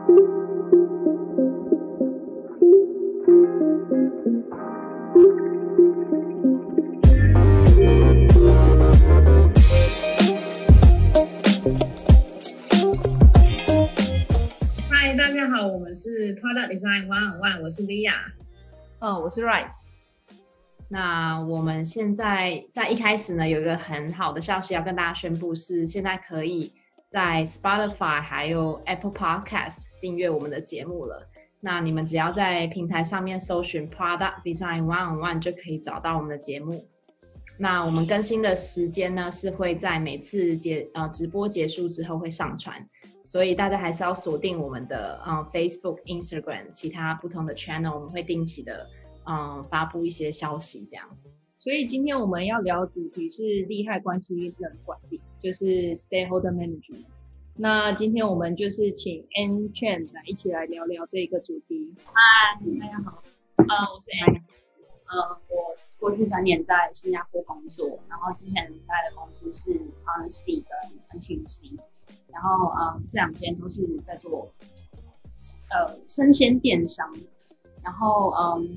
嗨，大家好，我们是 Product Design One-on-One， 我是 Lia。 我是 Rice。 那我们现在在一开始呢，有一个很好的消息要跟大家宣布，是现在可以在 Spotify 还有 Apple Podcast 订阅我们的节目了。那你们只要在平台上面搜寻 Product Design One-on-One 就可以找到我们的节目。那我们更新的时间呢，是会在每次直播结束之后会上传，所以大家还是要锁定我们的Facebook、Instagram 其他不同的 channel， 我们会定期的发布一些消息这样。 所以今天我们要聊的主题是利害关系人管理，就是 Stakeholder Management。那今天我们就是请 Ann Chen 一起来聊聊这个主题。 嗨，大家好，我是 Ann。我过去3年在新加坡工作，然后之前待的公司是 Honestbee 跟 NTUC， 然后这2间都是在做生鲜电商，然后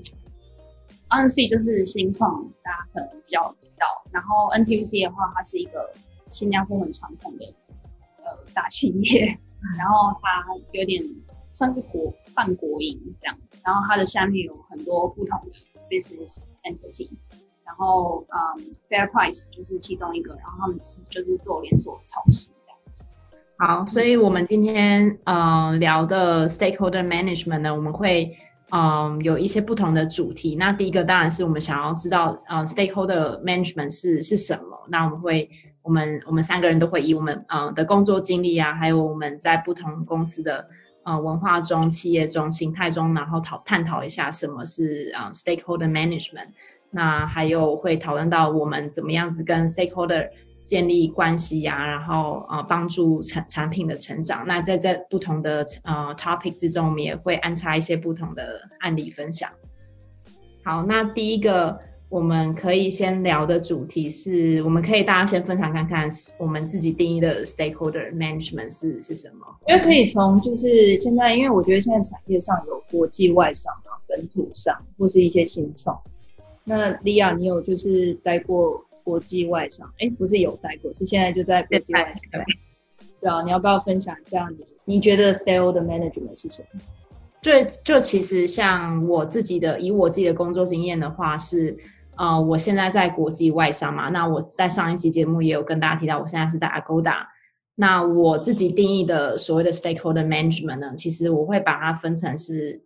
Honestbee 就是新创，大家可能比较知道，然后 NTUC 的话，它是一个新加坡很传统的大企业，然后它有点算是半国营这样，然后它的下面有很多不同的 business entity， 然后FairPrice 就是其中一个，然后他们就是做连锁超市这样子。 好，所以我们今天聊的 stakeholder management 呢，我们会有一些不同的主题。那第一个当然是我们想要知道stakeholder management 是什么。那我们3个人都会以我们的工作经历啊，还有我们在不同公司的文化中、企业中、形态中，然后探讨一下什么是stakeholder management。那还有会讨论到我们怎么样子跟 stakeholder 建立关系啊，然后帮助产品的成长。那在不同的topic 之中，我们也会安插一些不同的案例分享。好，那第一个我们可以先聊的主题是，我们可以大家先分享看看我们自己定义的 stakeholder management 是什么？ 因为可以从就是现在，因为我觉得现在产业上有国际外商啊、本土上或是一些新创。那 Lia 你有就是待过国际外商？不是有待过，是现在就在国际外商。对啊，你要不要分享一下你觉得 stakeholder management 是什么？ 就其实像以我自己的工作经验的话是，我现在在国际外商嘛，那我在上一期节目也有跟大家提到，我现在是在 Agoda。那我自己定义的所谓的 stakeholder management 呢，其实我会把它分成是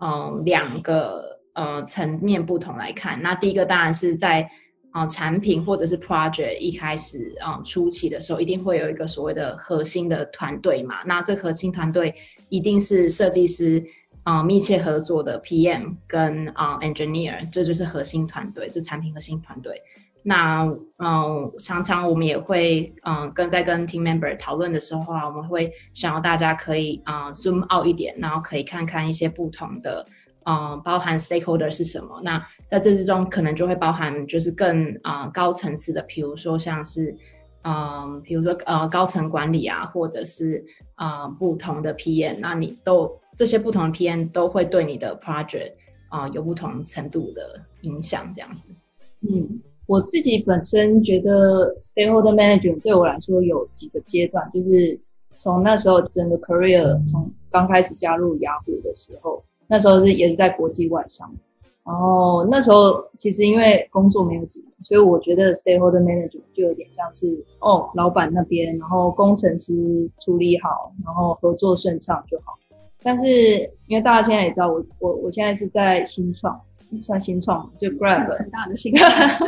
2个层面不同来看。那第一个当然是在产品或者是 project 一开始初期的时候，一定会有一个所谓的核心的团队嘛。那这核心团队一定是设计师密切合作的 PM 跟engineer， 这就是核心团队，是产品核心团队。那常常我们也会跟 team member 讨论的时候啊，我们会想要大家可以zoom out 一点，然后可以看看一些不同的包含 stakeholder 是什么。那在这之中可能就会包含就是更高层次的，比如说像是高层管理啊，或者是不同的 PM， 那这些不同的 PM 都会对你的 project有不同程度的影响这样子。 我自己本身觉得 stakeholder management 对我来说有几个阶段，就是从那时候整个 career 从刚开始加入雅虎的时候，那时候也是在国际外商，然后那时候其实因为工作没有几年，所以我觉得 stakeholder management 就有点像是老板那边，然后工程师处理好，然后合作顺畅就好。但是因为大家现在也知道我现在是在新创，算新创就 Grab 很大的新创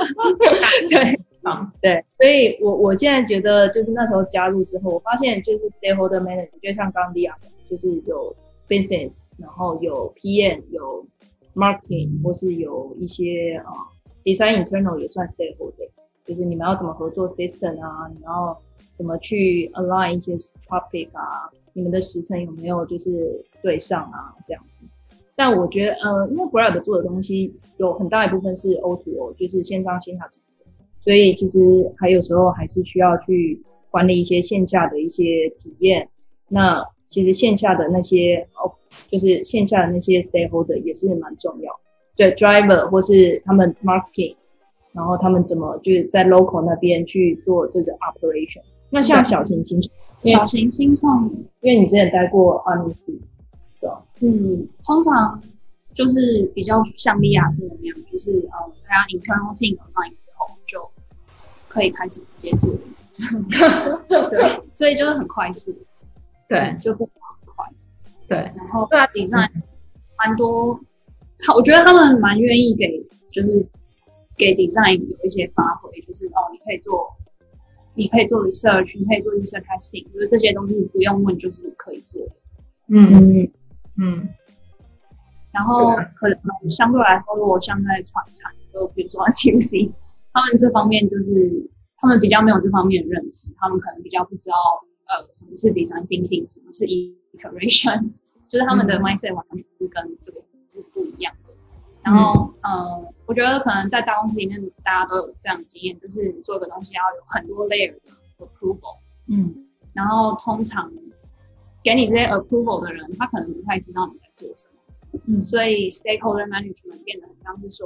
对，所以我现在觉得就是那时候加入之后，我发现就是 stakeholder management 就像刚刚 Lia 讲，就是有 business， 然后有 PM， 有 marketing， 或是有一些design internal 也算 stakeholder， 就是你们要怎么合作 system 啊，你要怎么去 align 一些 topic 啊，你们的时程有没有就是对上啊这样子。但我觉得因为 Grab 做的东西有很大一部分是 O2O， 就是线上线下整合，所以其实还有时候还是需要去管理一些线下的一些体验。那其实线下的那些就是线下的那些 stakeholder 也是蛮重要。对 driver 或是他们 marketing， 然后他们怎么就是在 local 那边去做这个 operation。那像小型新创， 因为你之前待过 Honesty， 对吧？ 通常就是比较像利亚是那样，就是大家 internal team align 之后就可以开始直接做。对，所以就是很快速， 对， 就不很快。 对， 然后对design 蛮多，我觉得他们蛮愿意就是给 design 有一些发挥，就是你可以做 research， 你可以做 user testing， 就是这些都是不用问就是可以做的。然后可能相对来说，如果像在传产，就比如说 NTUC， 他们这方面就是他们比较没有这方面的认知，他们可能比较不知道什么是 design thinking， 什么是 iteration， 就是他们的 mindset 完全是跟这个是不一样的。然后我觉得可能在大公司里面，大家都有这样的经验，就是你做一个东西要有很多 layer 的 approval，然后通常给你这些 approval 的人，他可能不太知道你在做什么。所以 stakeholder management 变得很像是说，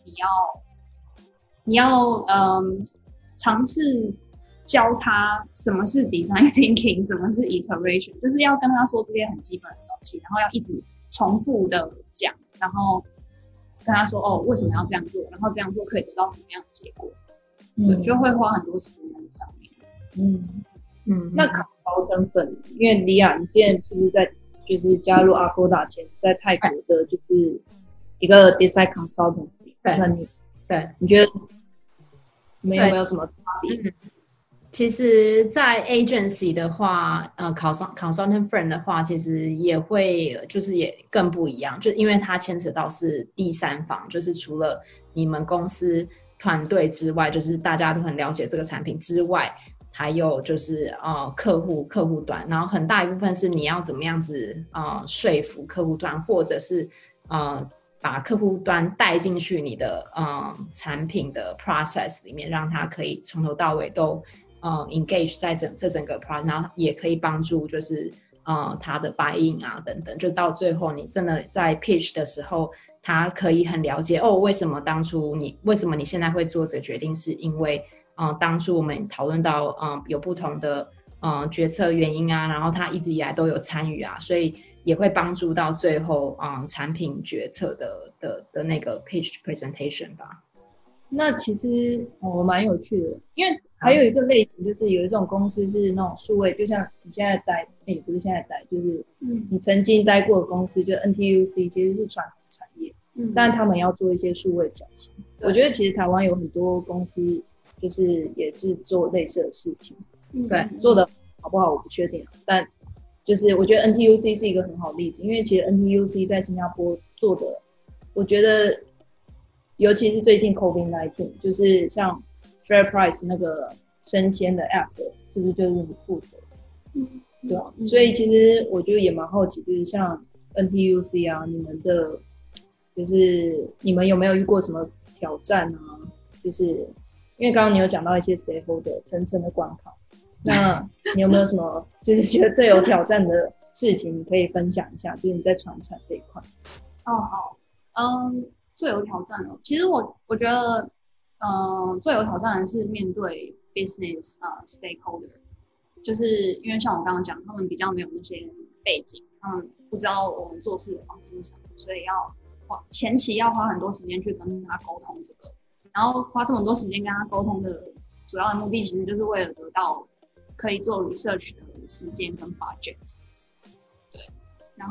你要尝试教他什么是 design thinking， 什么是 iteration， 就是要跟他说这些很基本的东西，然后要一直重复的讲，然后跟他说为什么要这样做，然后这样做可以得到什么样的结果，对，就会花很多时间在上面。 那consultant粉，因为李亚，你之前是不是在就是加入 Agoda 前，在泰国的就是一个 design consultancy？ 那你觉得你们有没有什么差别？ 其实，在 agency 的话，consultant firm 的话，其实也会就是也更不一样，就因为它牵扯到是第三方，就是除了你们公司团队之外，就是大家都很了解这个产品之外，还有就是客户端，然后很大一部分是你要怎么样子说服客户端，或者是把客户端带进去你的产品的 process 里面，让他可以从头到尾都engage 在整个 process， 然后也可以帮助就是他的 buy in 啊等等，就到最后你真的在 pitch 的时候，他可以很了解为什么你现在会做这个决定，是因为当初我们讨论到有不同的决策原因啊，然后他一直以来都有参与啊，所以也会帮助到最后产品决策的那个 pitch presentation 吧。 那其实蛮有趣的，因为还有一个类型就是有一种公司是那种数位，就像你现在待，不是现在待，就是你曾经待过的公司，就 NTUC 其实是传统产业，但他们要做一些数位转型。我觉得其实台湾有很多公司就是也是做类似的事情，对，做的好不好我不确定，但就是我觉得 NTUC 是一个很好的例子，因为其实 NTUC 在新加坡做的，我觉得尤其是最近 COVID-19， 就是像 FairPrice 那个生鲜的 App 是不是就是你负责？对啊，所以其实我觉得也蛮好奇，就是像 NTUC 啊，你们的就是你们有没有遇过什么挑战啊？就是因为刚刚你有讲到一些 stakeholder 层层的关卡，那你有没有什么就是觉得最有挑战的事情，你可以分享一下？就是你在传产这一块。 好，最有挑战的，其实我觉得，最有挑战的是面对 business stakeholder， 就是因为像我刚刚讲，他们比较没有那些背景，他们不知道我们做事的方式是什么，所以前期要花很多时间去跟他沟通这个，然后花这么多时间跟他沟通的主要的目的，其实就是为了得到可以做 research 的时间跟 budget。对，然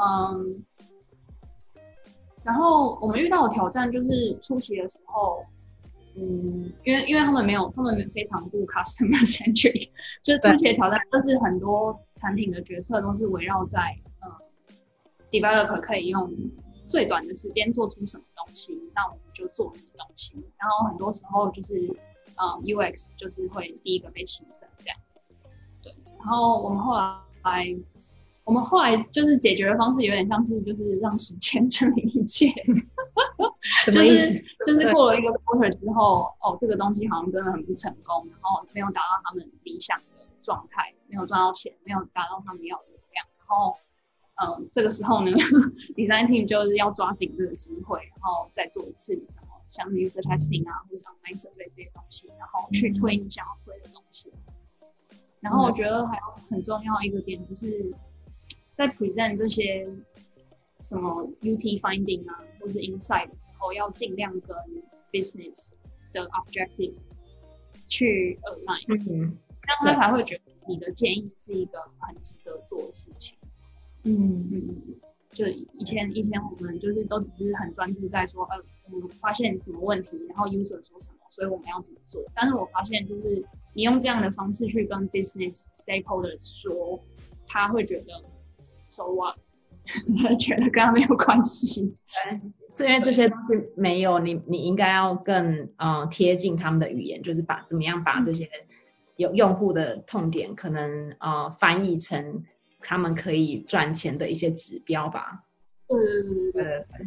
后我们遇到的挑战就是初期的时候，因为他们非常不 customer centric， 就是初期的挑战就是很多产品的决策都是围绕在developer 可以用最短的时间做出什么东西，那我们就做那个东西。然后很多时候就是UX 就是会第一个被牺牲这样。对，然后我们后来就是解决的方式有点像是就是让时间证明一切。 什么意思？ 就是过了一个 quarter 之后，这个东西好像真的很不成功，然后没有达到他们理想的状态，没有赚到钱，没有达到他们要的流量，然后这个时候呢，design team 就是要抓紧这个机会，然后再做一次什么像 user testing 啊，或者 online survey 这些东西，然后去推你想要推的东西。然后我觉得还有很重要一个点，就是在 present 这些什么 UT finding 啊，或是 insight 的时候，要尽量跟 business 的 objective 去 align，这样他才会觉得你的建议是一个很值得做的事情。就以前我们就是都只是很专注在说，我们发现什么问题，然后 user 说什么，所以我们要怎么做。但是我发现，就是你用这样的方式去跟 business stakeholders 说，他会觉得 so what， 他觉得跟他没有关系。 因为这些东西没有你应该要更贴近他们的语言，就是怎么样把这些有用户的痛点可能翻译成他们可以赚钱的一些指标吧。对，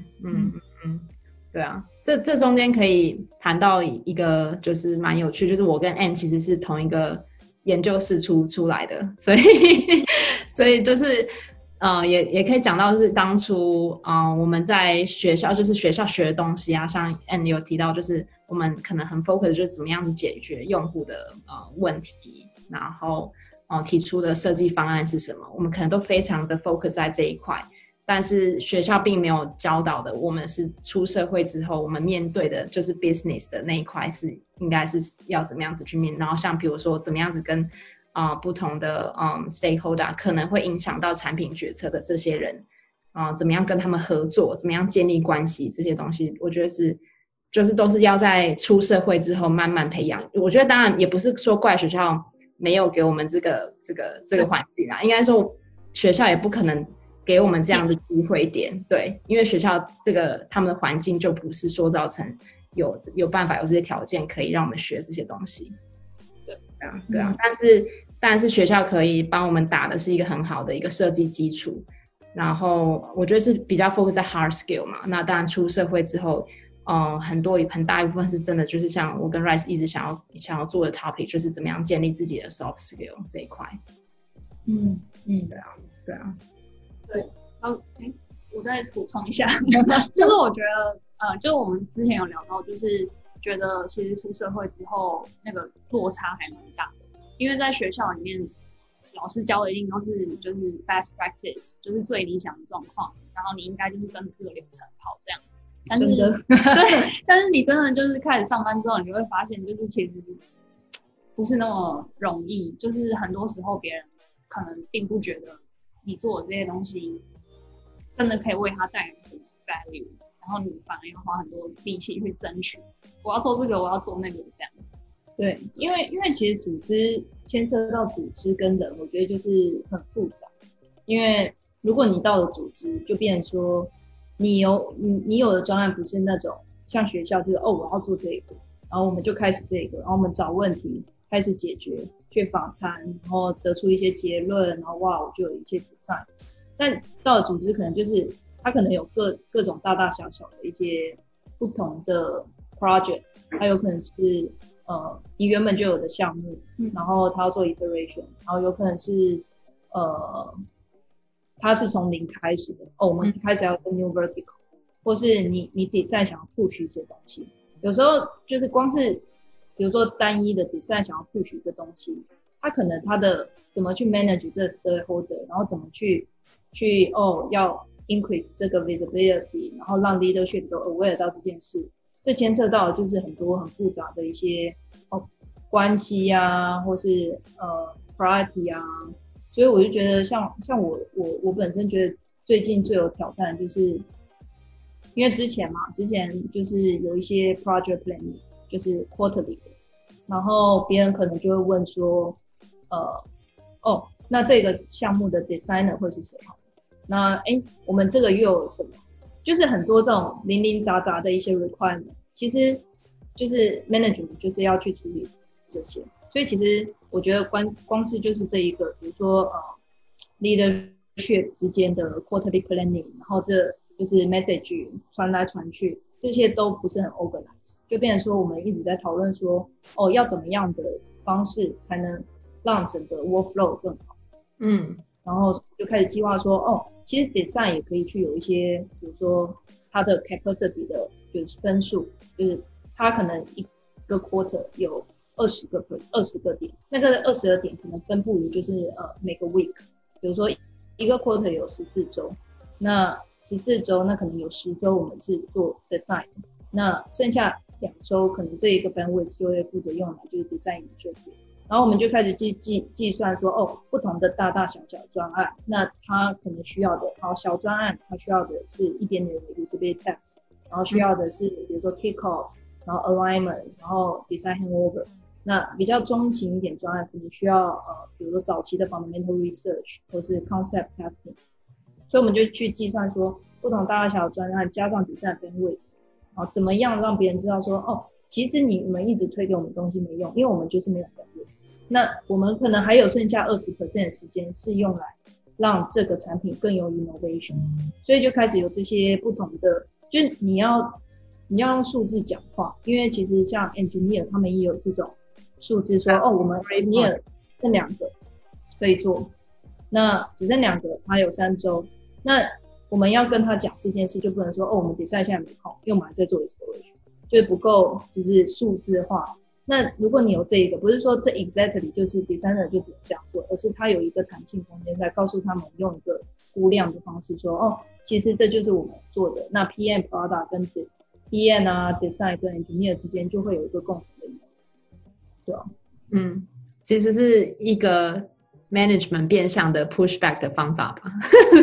对啊，这中间可以谈到一个就是蛮有趣，就是我跟 Anne 其实是同一个研究室出来的，所以就是也可以讲到，就是当初我们在学校，就是学校学的东西啊，像 Anne 有提到，就是我们可能很 focus 就是怎么样子解决用户的问题，然后提出的设计方案是什么，我们可能都非常的 focus 在这一块，但是学校并没有教导的，我们是出社会之后，我们面对的就是 business 的那一块是应该是要怎么样子去面，然后像比如说怎么样子跟不同的stakeholder 可能会影响到产品决策的这些人怎么样跟他们合作，怎么样建立关系，这些东西我觉得就是都是要在出社会之后慢慢培养。我觉得当然也不是说怪学校没有给我们这个环境啦，应该说学校也不可能给我们这样的机会点，对，因为学校他们的环境就不是说造成有办法有这些条件可以让我们学这些东西。对啊，但是学校可以帮我们打的是一个很好的一个设计基础，然后我觉得是比较 focus 在 hard skill 嘛。那当然出社会之后，很大一部分是真的就是像我跟 Rice 一直想要做的 topic， 就是怎么样建立自己的 soft skill 这一块。对啊。 我再补充一下，就是我觉得就我们之前有聊到，就是觉得其实出社会之后那个落差还蛮大的，因为在学校里面老师教的一定都是就是 best practice， 就是最理想的状况，然后你应该就是跟这个流程跑这样。但是对，但是你真的就是开始上班之后，你就会发现，就是其实不是那么容易，就是很多时候别人可能并不觉得你做的这些东西真的可以为他带来什么 value， 然后你反而要花很多力气去争取，我要做这个，我要做那个这样。 对，因为其实组织牵涉到组织跟人，我觉得就是很复杂。因为如果你到了组织，就变成说你有的专案不是那种像学校，就是我要做这个，然后我们就开始这个，然后我们找问题开始解决，去访谈，然后得出一些结论，然后我就有一些 design。但到了组织可能就是它可能有各种大大小小的一些不同的 project， 它有可能是你原本就有的项目，然后它要做 iteration， 然后有可能是它是从零开始的，我们开始要跟 new vertical， 或是你 design 想要 push 一些东西，有时候就是光是比如说单一的 design 想要 push 一个东西，它可能它的怎么去 manage 这个 stakeholder， 然后怎么去要 increase 这个 visibility， 然后让 leadership 都 aware 到这件事，这牵涉到就是很多很复杂的一些关系啊，或是priority 啊，所以我就觉得像我本身觉得最近最有挑战，就是因为之前就是有一些 project planning 就是 quarterly 的，然后别人可能就会问说那这个项目的 designer 会是谁？那我们这个又有什么？就是很多这种零零杂杂的一些 requirement， 其实就是 management 就是要去处理这些。所以其实我觉得光是就是这一个，比如说leadership 之间的 quarterly planning， 然后这就是 message 传来传去，这些都不是很 organized， 就变成说我们一直在讨论说要怎么样的方式才能让整个 workflow 更好。 然后就开始计划说，其实 design 也可以去有一些，比如说它的 capacity 的就是分数，就是它可能一个 quarter 有20个点，那个20个点可能分布于就是每个 week， 比如说一个 quarter 有14周，那14周那可能有10周我们是做 design， 那剩下2周可能这一个 bandwidth 就会负责用来就是 design 这边。然后我们就开始计算说，不同的大大小小专案，那它可能需要的，好，小专案它需要的是一点点的 usability test， 然后需要的是比如说 kick off， 然后 alignment， 然后 design handover。那比较中型一点专案可能需要比如说早期的 fundamental research 或是 concept testing， 所以我们就去计算说不同大大小专案加上 design bandwidth， 然后怎么样让别人知道说，其实你们一直推给我们东西没用，因为我们就是没有 bandwidth。那我们可能还有剩下20% 的时间是用来让这个产品更有 innovation， 所以就开始有这些不同的，就是你要用数字讲话，因为其实像 engineer 他们也有这种数字说，我们 engineer 剩2个可以做，那只剩2个，还有3周，那我们要跟他讲这件事，就不能说我们design现在没空，因为我们还在做 exploration， 就是不够就是数字化。那如果你有这一个，不是说这 exactly 就是 designer 就只能这样做，而是他有一个弹性空间，在告诉他们用一个估量的方式说，其实这就是我们做的。那 PM product 跟 PM 啊 design 跟 engineer 之间就会有一个共同的，对吧？ 其实是一个 management 变相的 pushback 的方法吧。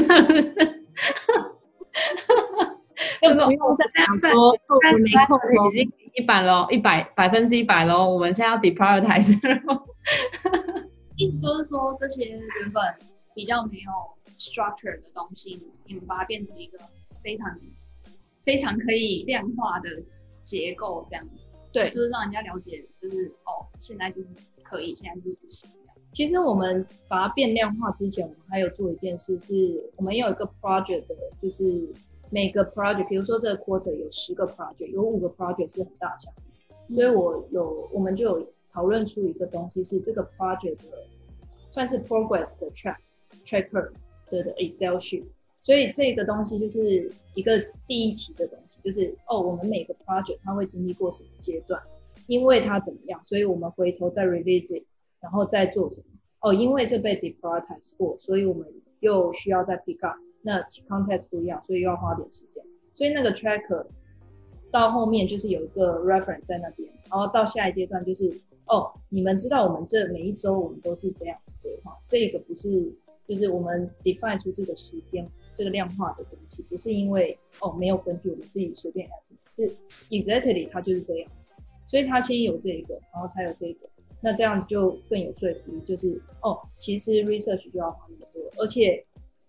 就不用再讲说我没空已经100咯，100%咯，我们现在要 deprioritize 了。 意思就是说，这些原本比较没有 structure 的东西，你们把它变成一个非常非常可以量化的结构，这样子。 对， 就是让人家了解，就是现在就是可以，现在就是不行。 其实我们把它变量化之前，我们还有做一件事，是我们有一个 project 的，就是每个 project， 比如说这个 quarter 有10个 project， 有5个 project 是很大项目，所以我们就有讨论出一个东西，是这个 project 的算是 progress 的 tracker 的 Excel sheet。所以这个东西就是一个第一期的东西，就是我们每个 project 它会经历过什么阶段，因为它怎么样，所以我们回头再 revisit， 然后再做什么。因为这被 deprioritize 过，所以我们又需要再 pick up。那 context 不一样，所以又要花点时间。所以那个 tracker 到后面就是有一个 reference 在那边，然后到下一阶段就是你们知道我们这每一周我们都是这样子规划，这个不是就是我们 define 出这个时间。这个量化的东西不是因为没有根据我们自己随便来，是 exactly 它就是这样子，所以它先有这个，然后才有这个，那这样就更有说服力，就是其实 research 就要花那么多，而且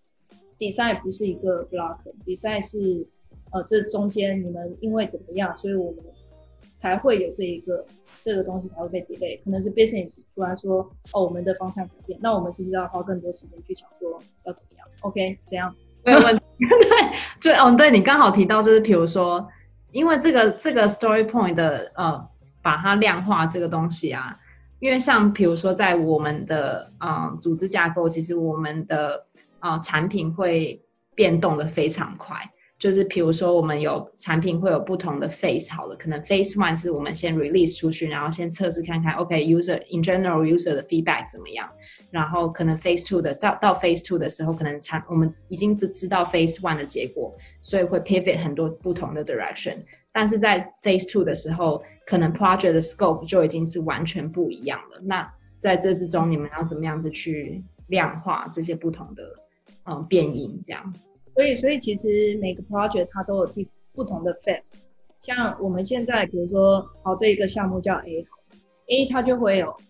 design 不是一个 block，design 是这中间你们因为怎么样，所以我们才会有这个东西才会被 delay， 可能是 business 突然说我们的方向改变，那我们是不是要花更多时间去想说要怎么样 ？OK， 这样。 没有问题。对，对，你刚好提到，就是比如说，因为这个 story point 的把它量化这个东西啊，因为像比如说在我们的组织架构，其实我们的产品会变动的非常快。就是比如说我们有产品会有不同的 phase， 好了，可能 phase 1是我们先 release 出去，然后先测试看看 OK user in general user 的 feedback 怎么样，然后可能 phase 2的到 phase 2的时候，可能我们已经知道 phase 1的结果，所以会 pivot 很多不同的 direction， 但是在 phase 2的时候，可能 project 的 scope 就已经是完全不一样了。那在这之中，你们要怎么样子去量化这些不同的变因这样？ 所以其实每个 project 它都有不同的 phase， 像我们现在比如说这一个项目叫 A 它就会有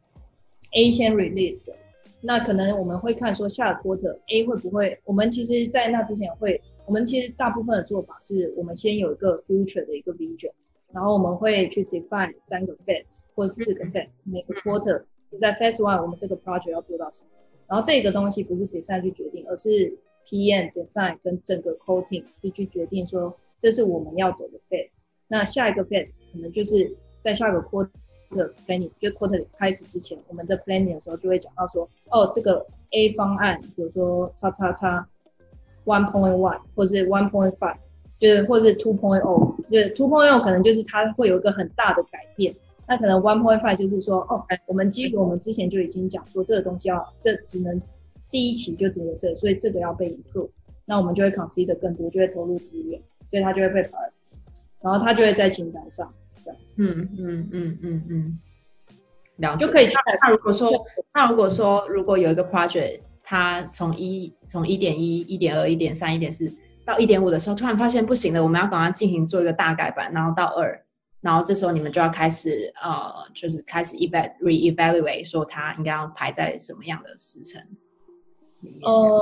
A 先 release， 那可能我们会看说下个 quarter A 会不会，我们其实在那之前我们其实大部分的做法是我们先有一个 future 的一个 vision， 然后我们会去 define 3个 phase 或4个 phase， 每个 quarter 在 phase 1我们这个 project 要做到什么，然后这个东西不是 design 去决定，而是PM design 跟整个 coating 是去决定说这是我们要走的 phase， 那下一个 phase 可能就是在下个 quarter 的 planning， 就 quarter 开始之前，我们的 planning 的时候就会讲到说，这个 A 方案，比如说叉叉叉 1.1 或是 1.5， 就是或是 2.0， 就是 2.0 可能就是它会有一个很大的改变。那可能 1.5 就是说，我们基于我们之前就已经讲说，这个东西这只能第一期就只有这个，所以这个要被 improve， 那我们就会 consider 更多，就会投入资源，所以它就会被 prioritize， 然后它就会在清单上这样子。 了解。 就可以去。 那如果说如果有一个 project， 它从 1.1、1.2、1.3、1.4 到 1.5 的时候，突然发现不行了，我们要赶快进行做一个大改版，然后到2。然后这时候你们就要开始就是开始 reevaluate 说它应该要排在什么样的时程里面。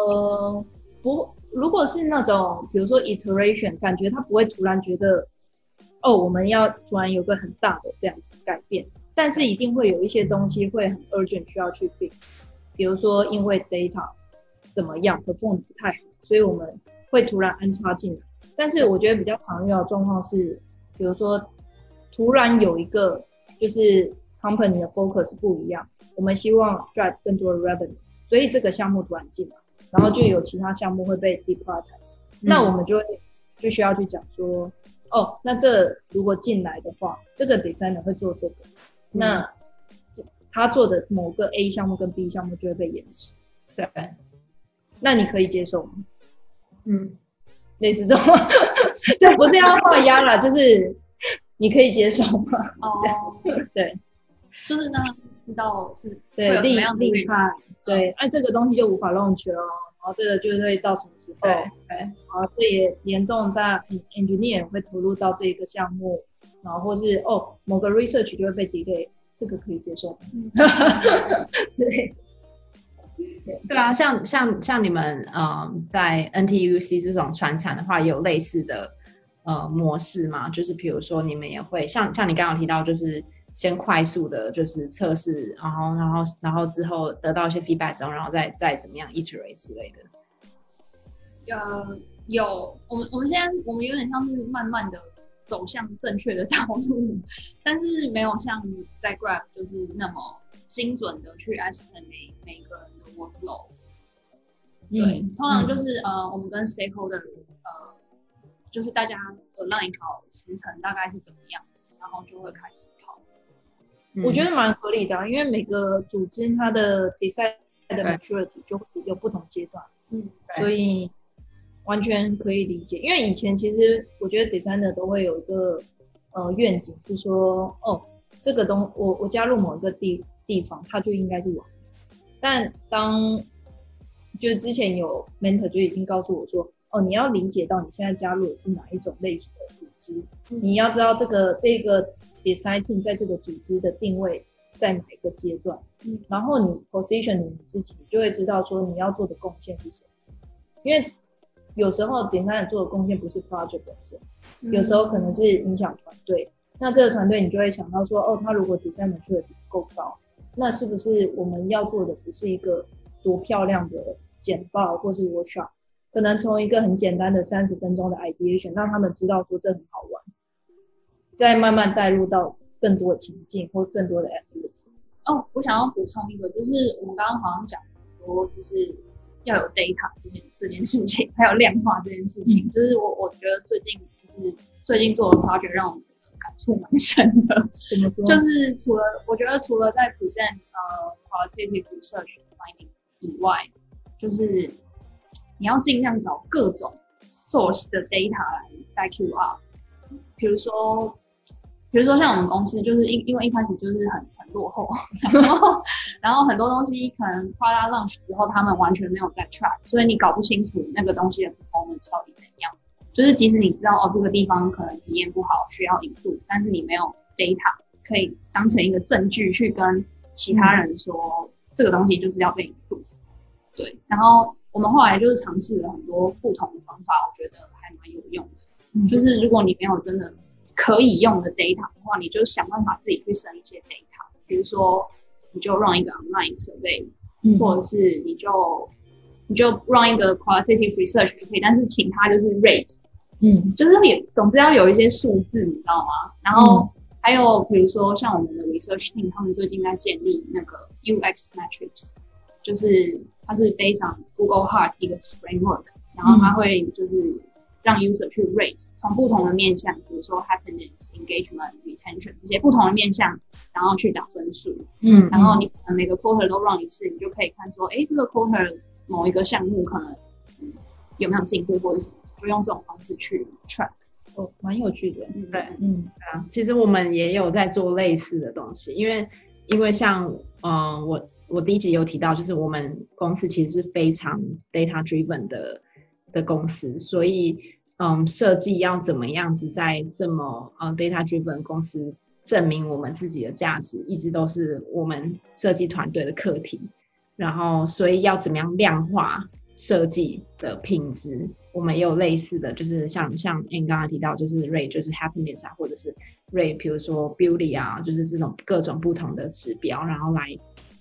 如果是那种比如说 iteration， 感觉它不会突然觉得我们要突然有个很大的这样子改变，但是一定会有一些东西会很 urgent 需要去 fix， 比如说因为 data 怎么样 perform 不太好，所以我们会突然安插进来。但是我觉得比较常遇到的状况是，比如说突然有一个就是 company 的 focus 不一样，我们希望 drive 更多的 revenue， 所以这个项目突然进来，然后就有其他项目会被 deprioritize，那我们就需要去讲说，那这如果进来的话，这个 designer 会做这个，那他做的某个 A 项目跟 B 项目就会被延迟，对，那你可以接受吗？类似这种，就不是要画押啦，就是你可以接受吗？对， 就是让他知道是对会有什么样的立派，对，这个东西就无法 launch 了，然后这个就会到什么时候？对，然后这也联动到 engineer 会投入到这个项目，然后或是某个 research 就会被 delay， 这个可以接受吗？ 对啊，像你们在 NTUC 这种传产的话，也有类似的模式嘛？就是比如说你们也会像你刚刚提到，就是先快速的就是测试，然后之后得到一些 feedback 之后，然后再怎么样 iterate 之类的。 有，我们现在我们有点像是慢慢的走向正确的道路，但是没有像在 Grab 就是那么精准的去 estimate 每个人的 workload。对，通常就是我们跟 stakeholder 就是大家align好时程大概是怎么样的，然后就会开始跑。 我觉得蛮合理的，因为每个组织它的 design 的 maturity 就有不同阶段，所以完全可以理解。因为以前其实我觉得 designer 都会有一个愿景是说，这个我加入某一个地方，它就应该是完。但就之前有 mentor 就已经告诉我说，你要理解到你现在加入的是哪一种类型的组织，你要知道这个 design team 在这个组织的定位在哪一个阶段，然后你 position 你自己，你就会知道说你要做的贡献是什么。因为有时候 designer 做的贡献不是 project 本身，有时候可能是影响团队。那这个团队你就会想到说，他如果 design maturity 不够高，那是不是我们要做的不是一个多漂亮的简报或是 workshop， 可能从一个很简单的30分钟的 ideation 让他们知道说这很好玩，再慢慢带入到更多的情境或更多的 activity。 我想要补充一个，就是我们刚刚好像讲说，就是要有 data 这件事情，还有量化这件事情，就是我觉得最近做的 project 让我感触蛮深的。 怎么说？ 就是我觉得除了在 present qualitative research finding 以外，就是你要尽量找各种 source 的 data 来 back you up。比如说像我们公司，就是因为一开始就是很落后，然后很多东西可能 product launch 之后，他们完全没有在 track， 所以你搞不清楚那个东西的 performance 到底怎样。就是即使你知道这个地方可能体验不好，需要improve，但是你没有 data 可以当成一个证据去跟其他人说这个东西就是要被 improve。对，然后我们后来就是尝试了很多不同的方法，我觉得还蛮有用的。就是如果你没有真的可以用的 data 的话，你就想办法自己去生一些 data， 比如说你就 run 一个 online survey，或者是你就 run 一个 qualitative research 也可以，但是请他就是 rate，就是总之要有一些数字，你知道吗？然后还有比如说像我们的 research team， 他们最近在建立那个 UX metrics， 就是它是 based on Google Heart 一个 framework， 然后它会就是让 user 去 rate， 从不同的面向，比如说 happiness、engagement、retention 这些不同的面向，然后去打分数。然后你可能每个 quarter 都 run 一次，你就可以看说，这个 quarter 某一个项目可能有没有进步或者什么，就用这种方式去 track。 蛮有趣的。 对，其实我们也有在做类似的东西，因为像我第一集有提到，就是我们公司其实是非常 data driven 的公司，所以设计要怎么样子在这么data driven 公司证明我们自己的价值，一直都是我们设计团队的课题。然后所以要怎么样量化设计的品质，我们也有类似的，就是像 Anne 刚刚提到，就是 rate 就是 happiness 啊，或者是 rate 比如说 beauty 啊，就是这种各种不同的指标，然后来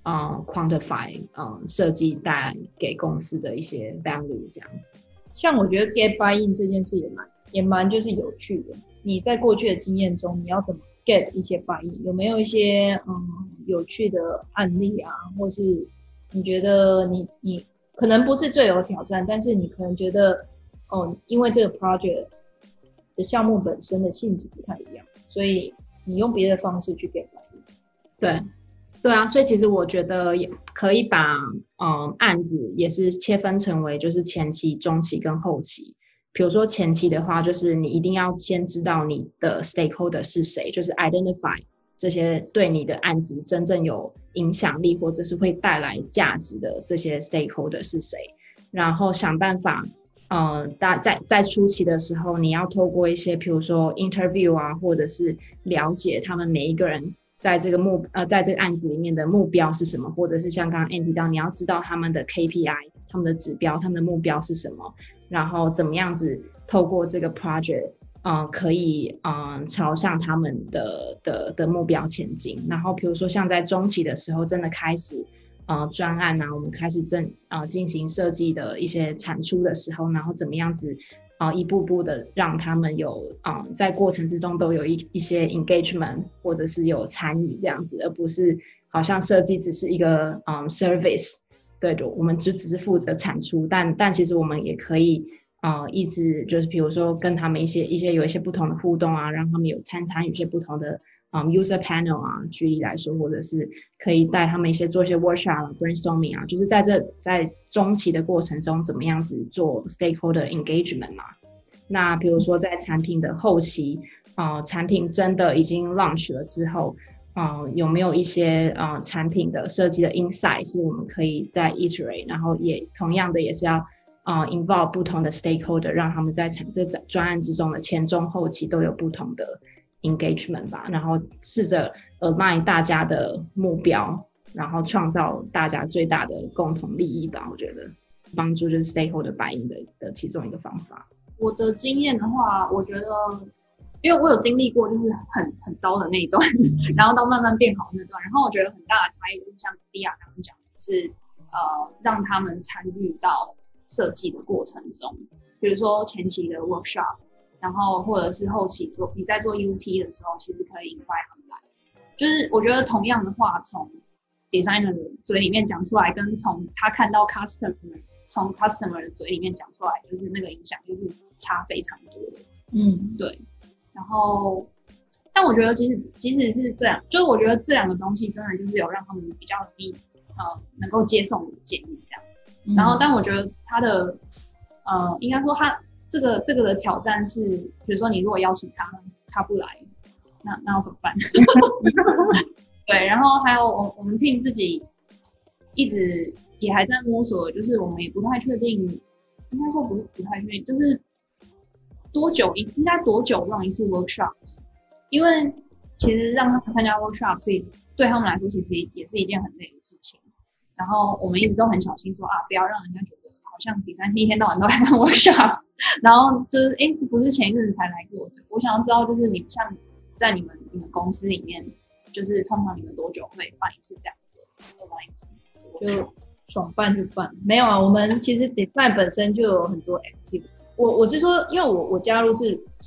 quantify 设计带给公司的一些 value 这样子。 像我觉得 get buy in 这件事也蛮就是有趣的。你在过去的经验中，你要怎么 get 一些 buy in？ 有没有一些有趣的案例啊，或是你觉得你可能不是最有挑战，但是你可能觉得因为这个 project 的项目本身的性质不太一样，所以你用别的方式去 get buy in。 对啊，所以其实我觉得也可以把案子也是切分成为就是前期、中期跟后期。比如说前期的话，就是你一定要先知道你的 stakeholder 是谁，就是 identify 这些对你的案子真正有影响力或者是会带来价值的这些 stakeholder 是谁，然后想办法在初期的时候，你要透过一些比如说 interview 啊，或者是了解他们每一个人在这个案子里面的目标是什么，或者是像刚刚 Anne 提到，你要知道他们的 KPI， 他们的指标，他们的目标是什么，然后怎么样子透过这个 project可以朝向他们的目标前进。然后比如说像在中期的时候真的开始专案啊，我们开始进行设计的一些产出的时候，然后怎么样子一步步的让他们有在过程之中都有一些 engagement 或者是有参与这样子，而不是好像设计只是一个service， 对的，我们就只是负责产出，但其实我们也可以一直就是比如说跟他们有一些不同的互动啊，让他们有参与一些不同的user panel 啊，举例来说，或者是可以带他们做一些 workshop brainstorming 啊，就是在中期的过程中怎么样子做 stakeholder engagement 嘛。那比如说在产品的后期产品真的已经 launch 了之后有没有一些产品的设计的 insight 是我们可以再 iterate， 然后也同样的也是要involve 不同的 stakeholder， 让他们在这专案之中的前中后期都有不同的 engagement 吧，然后试着align大家的目标，然后创造大家最大的共同利益吧。我觉得帮助就是 stakeholder buy in 的其中一个方法。 我的经验的话，我觉得因为我有经历过就是很糟的那一段然后到慢慢变好的那段，然后我觉得很大的差异就是像莉亚刚刚讲的，就是让他们参与到设计的过程中，比如说前期的 workshop， 然后或者是后期你在做 UT 的时候，其实可以 invite 他们来。就是我觉得同样的话，从 designer 的嘴里面讲出来，跟从他看到 从 customer 的嘴里面讲出来，就是那个影响就是差非常多的。对。然后，但我觉得即使是这样，就是我觉得这两个东西真的就是有让他们比较容易能够接受我的建议这样。然后，但我觉得他的应该说他这个的挑战是，比如说你如果邀请他不来，那要怎么办？对，然后还有我们 team 自己一直也还在摸索，就是我们也不太确定，应该说不太确定，就是应该多久让一次 workshop？ 因为其实让他们参加 workshop 是对他们来说其实也是一件很累的事情。然后我们一直都很小心说不要让人家觉得好像Design Team一天到晚都在看 workshop， 然后就是这不是前一阵子才来过的。我想要知道就是你们像在你们公司里面，就是通常你们多久会办一次这样的 online？ 就爽办就办，没有啊。我们其实 Design 本身就有很多 activity。我是说，因为我加入是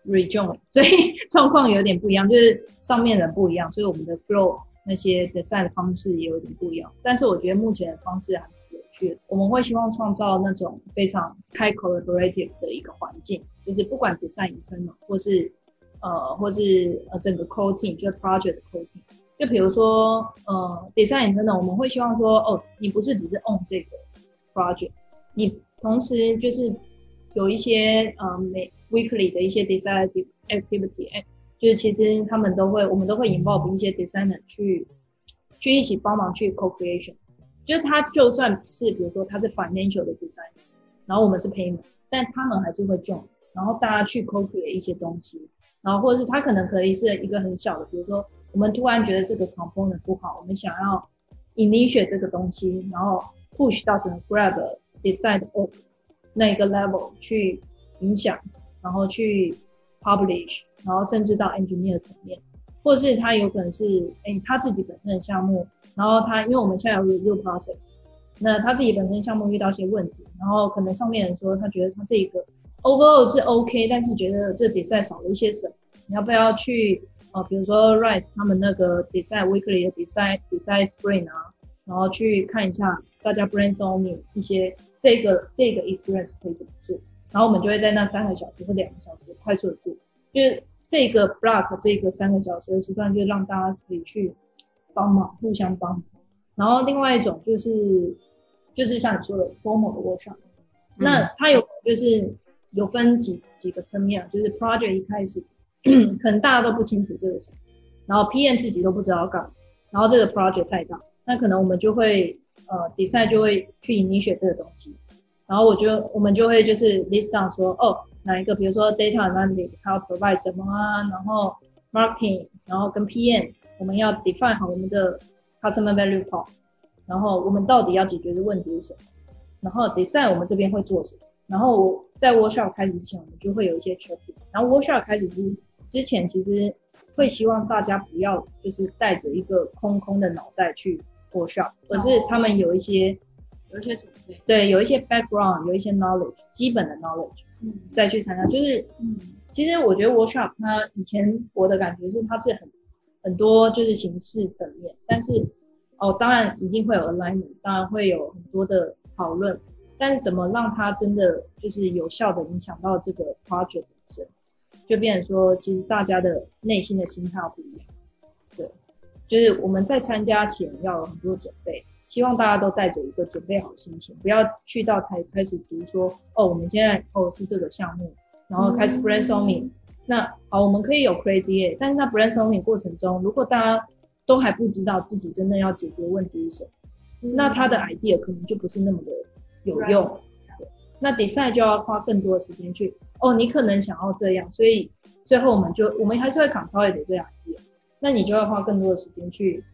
rejoin， 所以状况有点不一样，就是上面人不一样，所以我们的 flow 那些 design 的方式也有点不一样。但是我觉得目前的方式还蛮有趣的，我们会希望创造那种非常 high collaborative 的一个环境，就是不管 design internal 或是整个 core team， 就是 project 的 core team。就比如说design internal， 我们会希望说你不是只是 on 这个 project， 你同时就是有一些weekly 的一些 design activity， 就是其实我们都会 involve 一些 designer 去一起帮忙去 co-creation， 就是他就算是比如说他是 financial 的 designer， 然后我们是 payment， 但他们还是会 join， 然后大家去 co-create 一些东西，然后或者是他可能可以是一个很小的，比如说我们突然觉得这个 component 不好，我们想要 initiate 这个东西，然后 push 到整个 Grab decide 那一个 level 去影响，然后去 publish， 然后甚至到 engineer 层面，或者是他有可能是他自己本身的项目，然后因为我们现在有 review process， 那他自己本身项目遇到一些问题，然后可能上面人说他觉得他这个 overall 是 OK， 但是觉得这 design 少了一些什么，你要不要去比如说 Rise 他们那个 design weekly 的 design sprint 啊，然后去看一下大家 brainstorming 一些这个 experience 可以怎么做，然后我们就会在那3个小时或2个小时快速的做，就是这个 block 这个3个小时的时段，就让大家可以去帮忙，互相帮忙。然后另外一种就是像你说的 formal 的 workshop，那它就是有分几个层面，就是 project 一开始可能大家都不清楚这个事，然后 PM 自己都不知道要干嘛，然后这个 project 太大，那可能我们就会design 就会去initiate这个东西，然后我们就会就是 list down 说哪一个，比如说 data analytics 它要 provide 什么啊，然后 marketing， 然后跟 PM 我们要 define 好我们的 customer value prop， 然后我们到底要解决的问题是什么，然后 design 我们这边会做什么，然后在 workshop 开始之前我们就会有一些 checking， 然后 workshop 开始之前其实会希望大家不要就是带着一个空的脑袋去 workshop， 而是他们有一些准备，对，有一些 background， 有一些 knowledge， 基本的 knowledge， 再去参加。就是其实我觉得 workshop 它以前我的感觉是它是很多就是形式层面，但是当然一定会有 alignment， 当然会有很多的讨论，但是怎么让它真的就是有效的影响到这个 project 本身，就变成说其实大家的内心的心态不一样。对，就是我们在参加前要有很多准备，希望大家都带着一个准备好心情，不要去到才开始读说我们现在是这个项目，然后开始 brainstorming，那好，我们可以有 crazy， 但是那 brainstorming 过程中，如果大家都还不知道自己真的要解决问题是什么，那他的 idea 可能就不是那么的有用。对，那 design 就要花更多的时间去你可能想要这样，所以最后我们还是会 consolidate 这样 idea， 那你就要花更多的时间去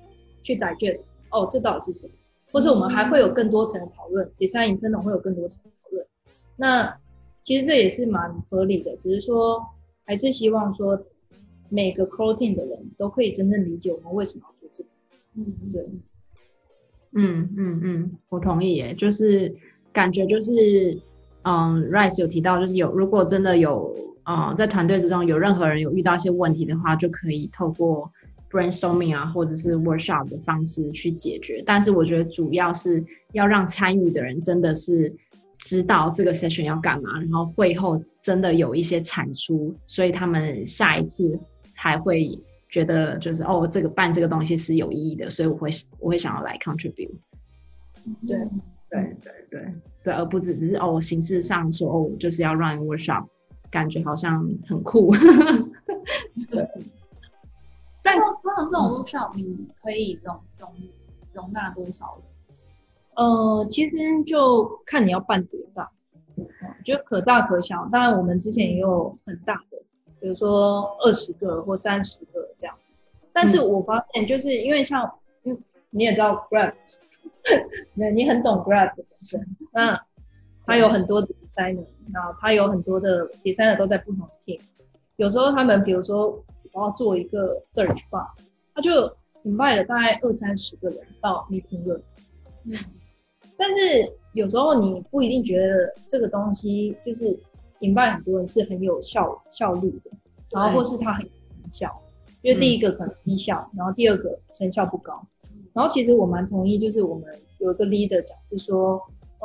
digest 这到底是什么，或是我们还会有更多层的讨论， design internal 会有更多层的讨论。那其实这也是蛮合理的，只是说还是希望说每个 core team 的人都可以真正理解我们为什么要做这个。对， 我同意耶，就是感觉就是Rice 有提到，就是如果真的有在团队之中有任何人有遇到一些问题的话，就可以透过 brainstorming 啊或者是 workshop 的方式去解决，但是我觉得主要是要让参与的人真的是知道这个 session 要干嘛，然后会后真的有一些产出，所以他们下一次才会觉得就是这个办这个东西是有意义的，所以我会想要来 contribute。 对，而不只是形式上说就是要 run workshop， 感觉好像很酷。对， 但通常这种 workshop 你可以容纳多少人？ 其实就看你要办多大，就可大可小。当然我们之前也有很大的，比如说20个或30个这样子。但是我发现就是因为你也知道 Grab， 你很懂 Grab 本身，那他有很多的 designer， 然后他有很多的 designer 都在不同的 team， 有时候他们比如说我要做一个 search bar， 他就 invite 了大概20-30个人到 meeting room，但是有时候你不一定觉得这个东西就是引爆很多人是很有效率的，然后或是他很有成效。因为第一个可能低效，然后第二个成效不高。然后其实我蛮同意，就是我们有一个 leader 讲是说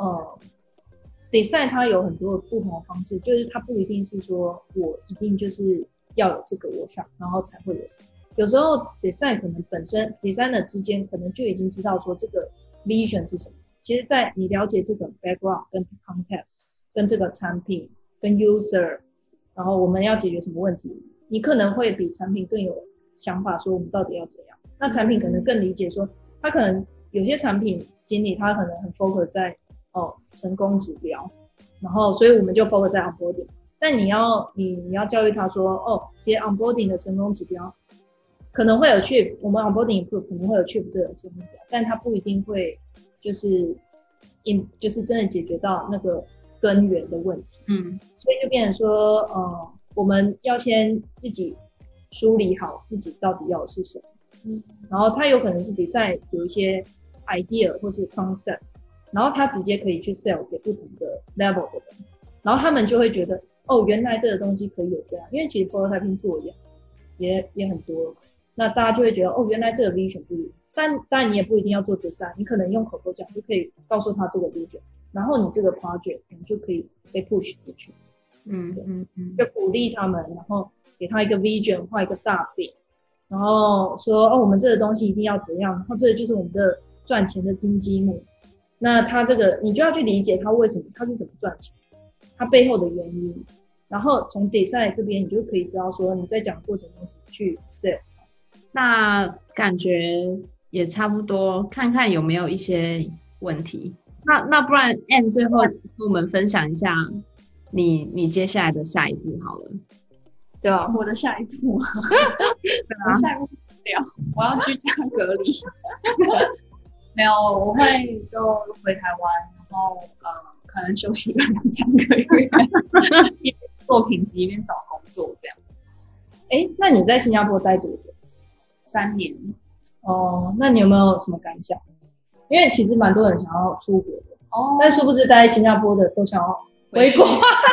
，design 它有很多不同的方式，就是它不一定是说我一定就是要有这个 workshop， 然后才会有什么。有时候 design 可能本身 designer 之间可能就已经知道说这个 vision 是什么。其实在你了解这个 background 跟 context 跟这个产品跟 user， 然后我们要解决什么问题，你可能会比产品更有想法说我们到底要怎样。那产品可能更理解说他可能有些产品经理他可能很 focus 在成功指标，然后所以我们就 focus 在 onboarding。但你要教育他说其实 onboarding 的成功指标可能会有 achieve， 我们 onboarding improve 可能会有 achieve 这个成功指标，但它不一定会就是真的解决到那个根源的问题。所以就变成说我们要先自己梳理好自己到底要的是什么。然后他有可能是 design 有一些 idea 或是 concept， 然后他直接可以去 sell 给不同的 level 的人，然后他们就会觉得原来这个东西可以有这样，因为其实 prototyping tool 也很多，那大家就会觉得原来这个 vision 不一，但当然你也不一定要做 design， 你可能用口头讲就可以告诉他这个 vision， 然后你这个 project 可能就可以被 push 进去。就鼓励他们，然后给他一个 vision， 画一个大饼，然后说我们这个东西一定要怎样，然后这个就是我们的赚钱的金鸡母。那他这个你就要去理解他为什么他是怎么赚钱，他背后的原因，然后从 design 这边你就可以知道说你在讲的过程中怎么去 sell。 那感觉也差不多，看看有没有一些问题。那不然 Anne 最后跟我们分享一下你接下来的下一步好了。 对啊， 我的下一步我下一步我要居家隔离没有，我会就回台湾，然后可能休息了2-3个月一边做品质一边找工作这样。 那你在新加坡待多久 ？3年。 那你有没有什么感想？因为其实蛮多人想要出国的，但殊不知待在新加坡的都想要回国。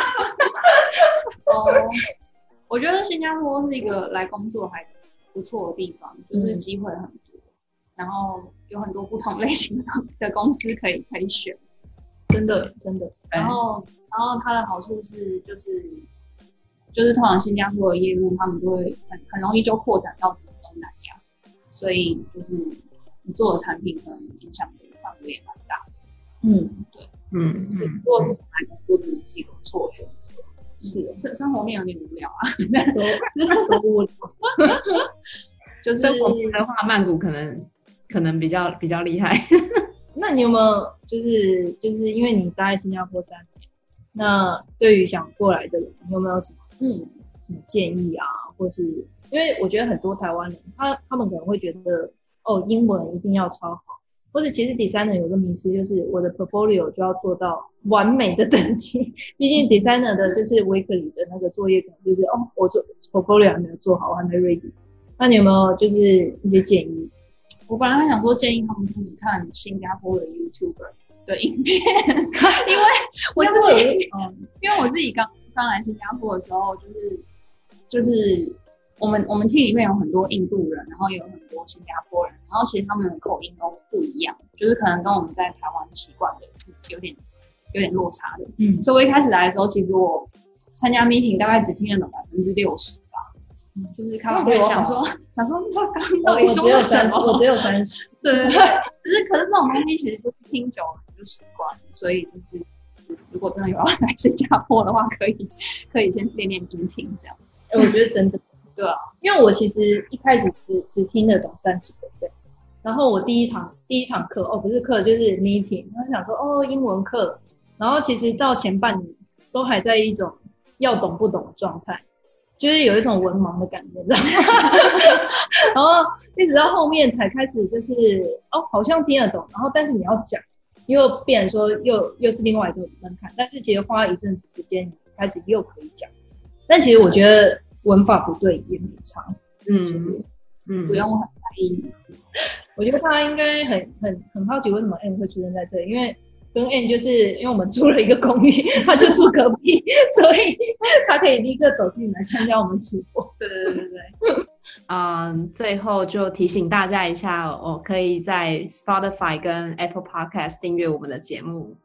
我觉得新加坡是一个来工作还不错的地方，就是机会很多，然后有很多不同类型的公司可以选， 真的。 然后它的好处是就是通常新加坡的业务他们就会很容易就扩展到整个东南亚，所以就是你做的产品可能影响的范围也蛮大的。对。如果是来工作，真的是一个不错的选择。是生活面有点无聊啊， 多无聊。 就是生活面的话，曼谷可能比较厉害。 那你有没有就是因为你待在新加坡3年，那对于想过来的人，你有没有什么建议啊？或是因为我觉得很多台湾人他们可能会觉得英文一定要超好。或者其实 designer 有个迷思，就是我的 portfolio 就要做到完美的等级。毕竟 designer 的就是 weekly 的那个作业可能就是我做 portfolio 还没有做好，我还没 ready。那你有没有就是一些建议？ 我本来还想说建议他们开始看新加坡的 YouTuber 的影片，因为我自己刚来新加坡的时候，就是我们 team 里面有很多印度人，然后也有很多新加坡人，然后其实他们的口音都不一样，就是可能跟我们在台湾习惯的是有点落差的。所以我一开始来的时候，其我参加 meeting 大概只听得懂60%吧，就是开完会想说他刚到底说了什么？ 我只有30。 对。可是这种东西其实就是听久了就习惯了，所以就是如果真的有要来新加坡的话，可以先练音听这样。 我觉得真的。对啊，因为我其实一开始只听得懂30%，然后我第一堂课不是课就是 meeting， 然后想说英文课，然后其实到前半年都还在一种要懂不懂的状态，就是有一种文盲的感觉，你知道吗？然后一直到后面才开始就是好像听得懂，然后但是你要讲，又变成说又是另外一个门槛，但是其实花一阵子时间，你开始又可以讲，但其实我觉得文法不对也没差， 不用很在意。 我觉得他应该很好奇为什么 Anne 会出现在这里，因为跟 Ann 就是因为我们租了一个公寓，他就住隔壁，所以他可以立刻走进来参加我们直播。 对。最后就提醒大家一下，可以在 Spotify 跟 Apple Podcast 订阅我们的节目。